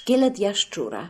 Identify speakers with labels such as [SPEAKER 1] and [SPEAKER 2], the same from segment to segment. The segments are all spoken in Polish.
[SPEAKER 1] Szkielet jaszczura.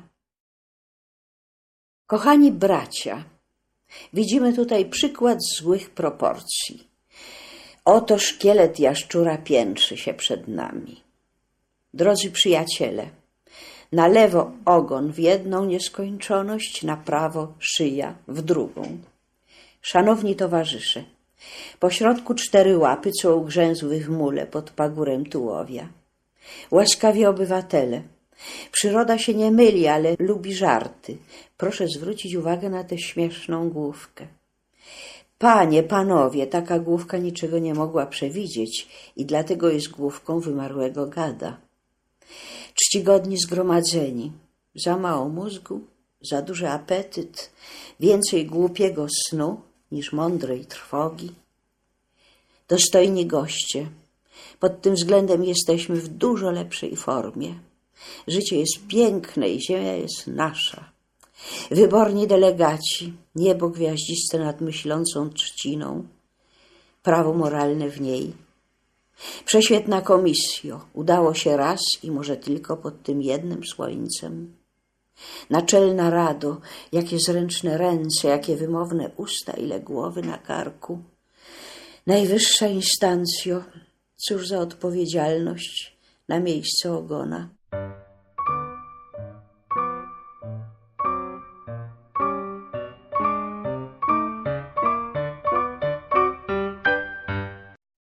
[SPEAKER 1] Kochani bracia, widzimy tutaj przykład złych proporcji. Oto szkielet jaszczura piętrzy się przed nami. Drodzy przyjaciele, na lewo ogon w jedną nieskończoność, na prawo szyja w drugą. Szanowni towarzysze, pośrodku 4 łapy, co ugrzęzły w mule pod pagórem tułowia. Łaskawi obywatele, przyroda się nie myli, ale lubi żarty. Proszę zwrócić uwagę na tę śmieszną główkę. Panie, panowie, taka główka niczego nie mogła przewidzieć i dlatego jest główką wymarłego gada. Czcigodni zgromadzeni, za mało mózgu, za duży apetyt, więcej głupiego snu niż mądrej trwogi. Dostojni goście, pod tym względem jesteśmy w dużo lepszej formie. Życie jest piękne i ziemia jest nasza. Wyborni delegaci, niebo gwiaździste nad myślącą trzciną, prawo moralne w niej. Prześwietna komisjo, udało się raz i może tylko pod tym jednym słońcem. Naczelna rado, jakie zręczne ręce, jakie wymowne usta, ile głowy na karku. Najwyższa instancjo, cóż za odpowiedzialność na miejsce ogona.